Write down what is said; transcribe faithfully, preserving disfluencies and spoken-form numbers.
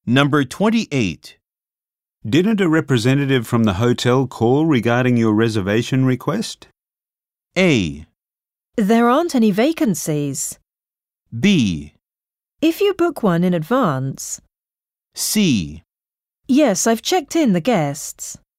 Number twenty-eight. Didn't a representative from the hotel call regarding your reservation request? A. There aren't any vacancies. B. If you book one in advance. C. Yes, I've checked in the guests.